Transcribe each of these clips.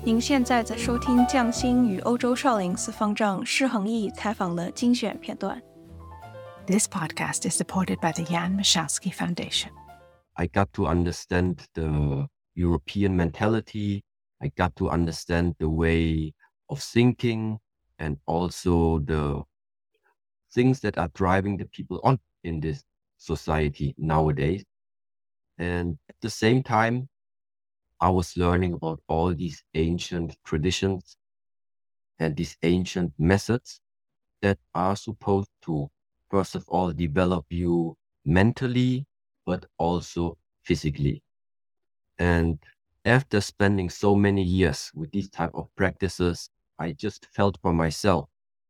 您现在在收听匠心与欧洲少林寺方丈释恒毅采访的精选片段。 This podcast is supported by the Jan Michalski Foundation. I got to understand the European mentality. I got to understand the way of thinking and also the things that are driving the people on in this society nowadays. And at the same time, I was learning about all these ancient traditions and these ancient methods that are supposed to, first of all, develop you mentally, but also physically. And after spending so many years with these type of practices, I just felt for myself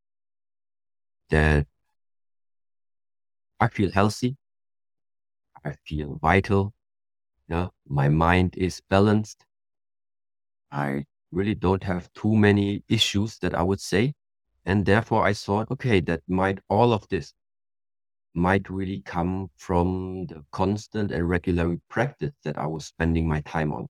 that I feel healthy, I feel vital, yeah, my mind is balanced. I really don't have too many issues that I would say. And therefore I thought, okay, all of this might really come from the constant and regular practice that I was spending my time on.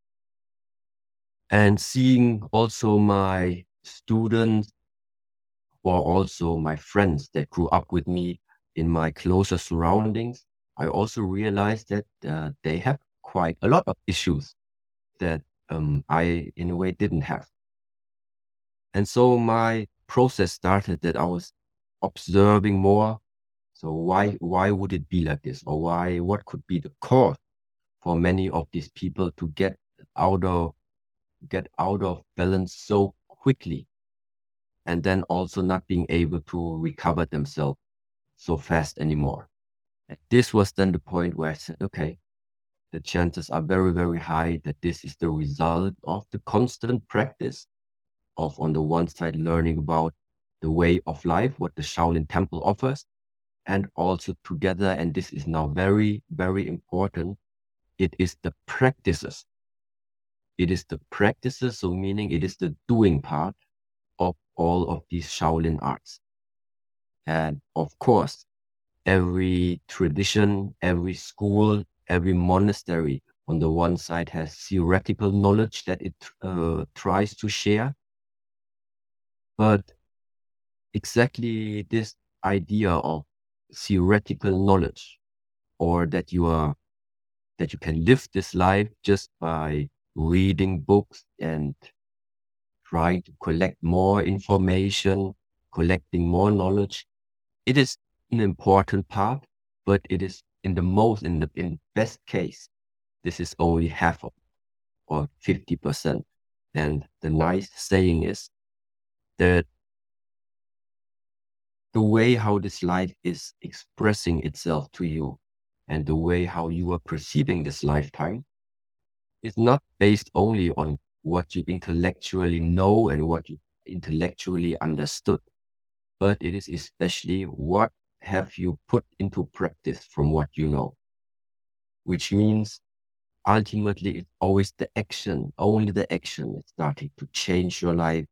And seeing also my students or also my friends that grew up with me in my closer surroundings, I also realized that they have quite a lot of issues that I, in a way, didn't have. And so my process started that I was observing more. So why would it be like this? Or what could be the cause for many of these people to get out of balance so quickly, and then also not being able to recover themselves so fast anymore? And this was then the point where I said, okay, the chances are very, very high that this is the result of the constant practice of, on the one side, learning about the way of life, what the Shaolin Temple offers, and also together, and this is now very, very important, it is the practices. It is the practices, so meaning it is the doing part of all of these Shaolin arts. And of course, every tradition, every school, every monastery on the one side has theoretical knowledge that it tries to share. But exactly this idea of theoretical knowledge, or that you can live this life just by reading books and trying to collect more information, collecting more knowledge, it is an important part, but it is in best case, this is only half of or 50%. And the nice saying is that the way how this life is expressing itself to you and the way how you are perceiving this lifetime is not based only on what you intellectually know and what you intellectually understood, but it is especially what have you put into practice from what you know, which means ultimately it's always the action, only the action is starting to change your life.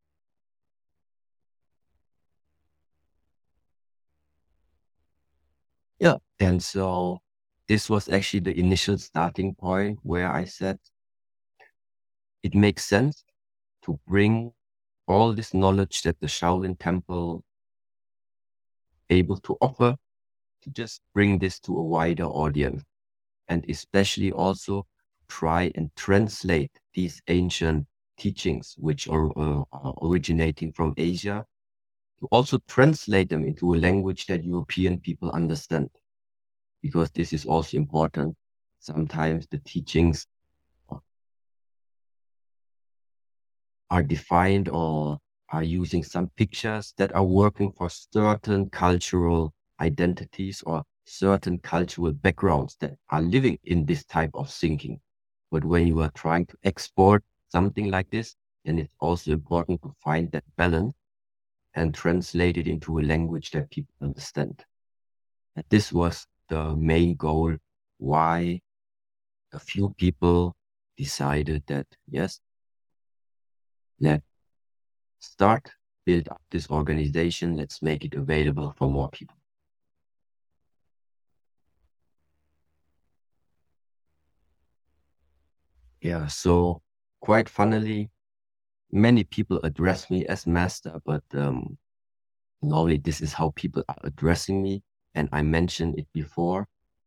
Yeah. And so this was actually the initial starting point where I said it makes sense to bring all this knowledge that the Shaolin Temple able to offer, to just bring this to a wider audience, and especially also try and translate these ancient teachings, which are originating from Asia, to also translate them into a language that European people understand, because this is also important. Sometimes the teachings are defined or are using some pictures that are working for certain cultural identities or certain cultural backgrounds that are living in this type of thinking. But when you are trying to export something like this, then it's also important to find that balance and translate it into a language that people understand. And this was the main goal why a few people decided that, yes, let's build up this organization, let's make it available for more people. Yeah, so quite funnily, many people address me as master, but normally this is how people are addressing me. And I mentioned it before.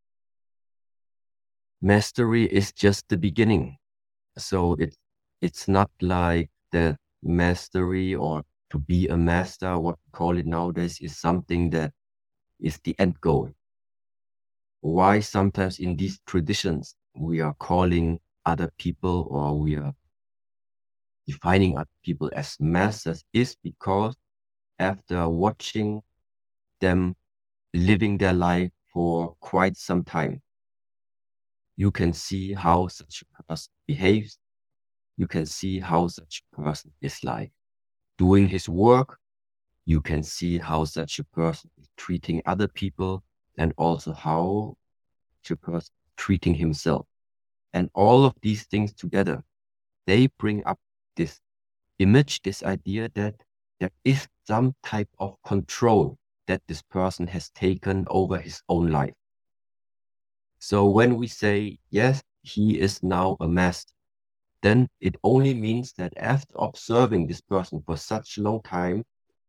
Mastery is just the beginning. So it's not like the mastery or to be a master, what we call it nowadays, is something that is the end goal. Why sometimes in these traditions we are calling other people or we are defining other people as masters is because after watching them living their life for quite some time, you can see how such a person behaves. You can see how such a person is like doing his work. You can see how such a person is treating other people and also how such a person is treating himself. And all of these things together, they bring up this image, this idea that there is some type of control that this person has taken over his own life. So when we say, yes, he is now a master, then it only means that after observing this person for such a long time,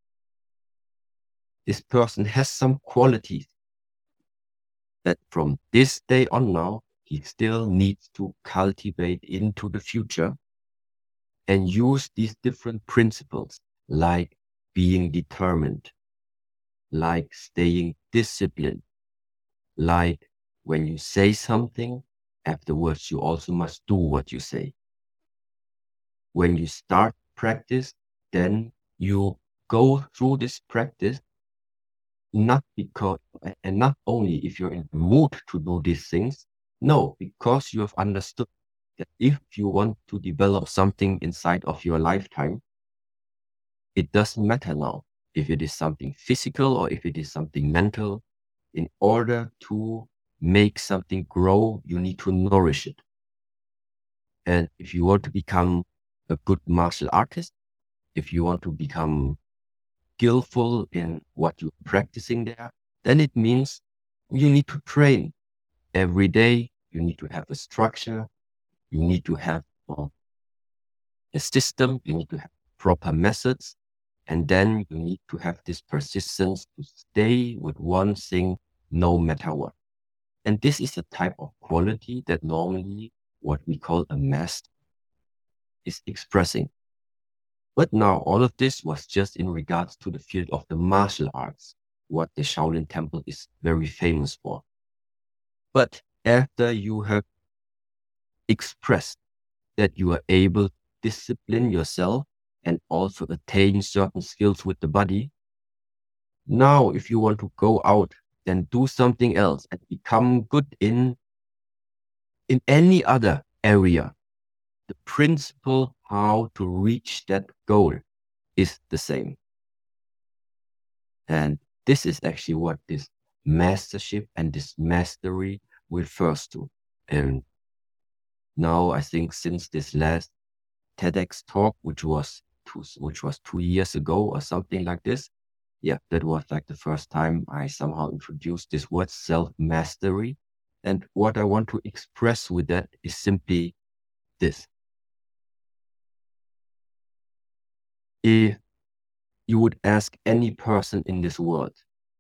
this person has some qualities that from this day on now, he still needs to cultivate into the future and use these different principles like being determined, like staying disciplined, like when you say something, afterwards you also must do what you say. When you start practice, then you go through this practice not because, and not only if you're in the mood to do these things, no, because you have understood that if you want to develop something inside of your lifetime, it doesn't matter now if it is something physical or if it is something mental. In order to make something grow, you need to nourish it. And if you want to become a good martial artist, if you want to become skillful in what you're practicing there, then it means you need to train every day. You need to have a structure. You need to have a system. You need to have proper methods. And then you need to have this persistence to stay with one thing no matter what. And this is a type of quality that normally what we call a master is expressing. But now all of this was just in regards to the field of the martial arts, what the Shaolin Temple is very famous for. But after you have expressed that you are able to discipline yourself and also attain certain skills with the body, now if you want to go out and do something else and become good in any other area, the principle how to reach that goal is the same. And this is actually what this mastership and this mastery refers to. And now I think since this last TEDx talk, which was 2 years ago or something like this, yeah, that was like the first time I somehow introduced this word self-mastery. And what I want to express with that is simply this. If you would ask any person in this world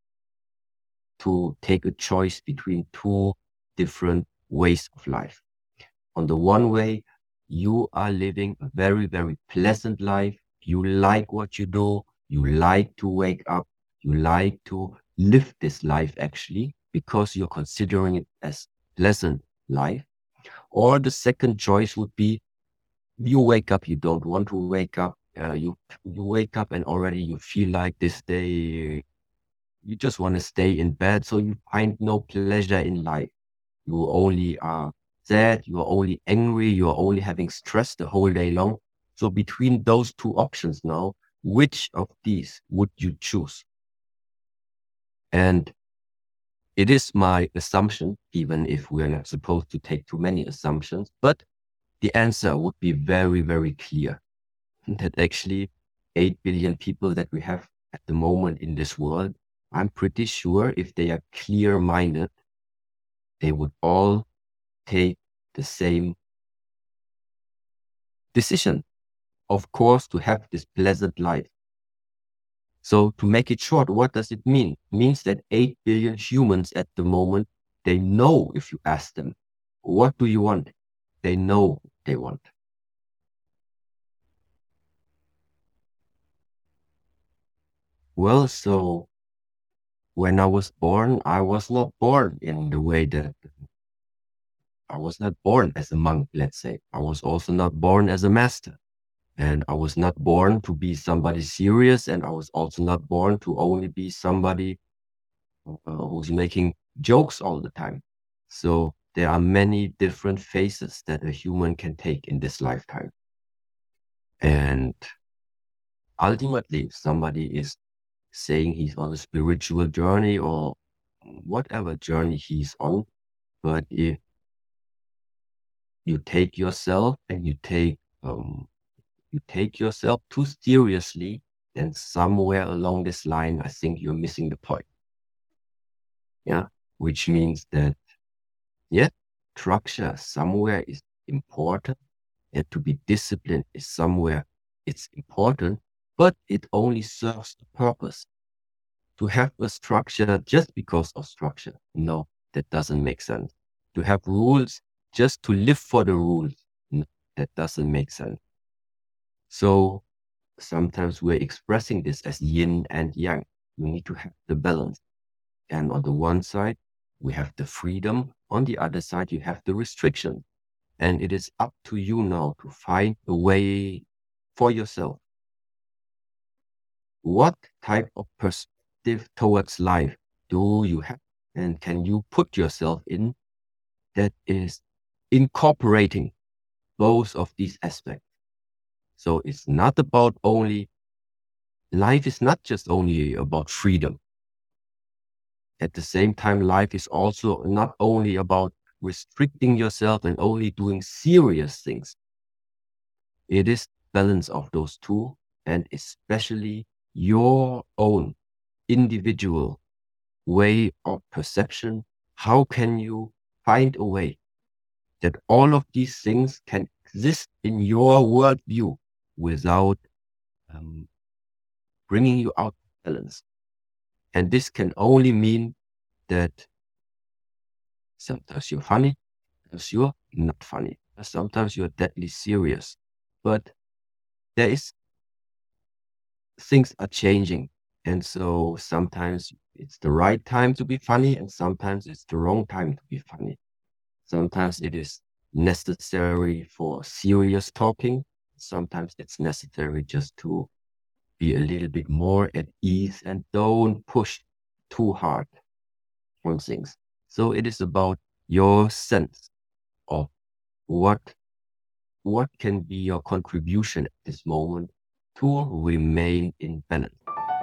to take a choice between two different ways of life. On the one way, you are living a very, very pleasant life. You like what you do. You like to wake up. You like to live this life actually because you're considering it as pleasant life. Or the second choice would be you wake up, you don't want to wake up. You wake up and already you feel like this day you just want to stay in bed, so you find no pleasure in life. You only are sad, you are only angry, you are only having stress the whole day long. So between those two options now, which of these would you choose? And it is my assumption, even if we're not supposed to take too many assumptions, but the answer would be very, very clear. That actually 8 billion people that we have at the moment in this world, I'm pretty sure if they are clear-minded, they would all take the same decision. of course, to have this pleasant life. So to make it short, what does it mean? It means that 8 billion humans at the moment, they know if you ask them, what do you want? They know they want. Well, so when I was born, I was not born in the way that I was not born as a monk, let's say. I was also not born as a master. And I was not born to be somebody serious. And I was also not born to only be somebody who's making jokes all the time. So there are many different phases that a human can take in this lifetime. And ultimately, if somebody is saying he's on a spiritual journey or whatever journey he's on, but if you take yourself and you take yourself too seriously, then somewhere along this line, I think you're missing the point. Yeah, which means that, yeah, structure somewhere is important, and to be disciplined is somewhere it's important, but it only serves the purpose. To have a structure just because of structure, no, that doesn't make sense. To have rules just to live for the rules, no, that doesn't make sense. So sometimes we're expressing this as yin and yang. We need to have the balance. And on the one side, we have the freedom. On the other side, you have the restriction. And it is up to you now to find a way for yourself. What type of perspective towards life do you have? And can you put yourself in that is incorporating both of these aspects? So it's not about only, life is not just only about freedom. At the same time, life is also not only about restricting yourself and only doing serious things. It is balance of those two, and especially your own individual way of perception. How can you find a way that all of these things can exist in your worldview without bringing you out of balance? And this can only mean that sometimes you're funny, sometimes you're not funny, sometimes you're deadly serious. But there is, things are changing. And so sometimes it's the right time to be funny, and sometimes it's the wrong time to be funny. Sometimes it is necessary for serious talking. Sometimes it's necessary just to be a little bit more at ease and don't push too hard on things. So it is about your sense of what can be your contribution at this moment to remain in balance.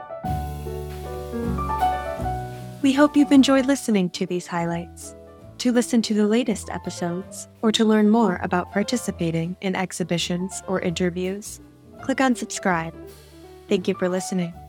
We hope you've enjoyed listening to these highlights. To listen to the latest episodes, or to learn more about participating in exhibitions or interviews, click on subscribe. Thank you for listening.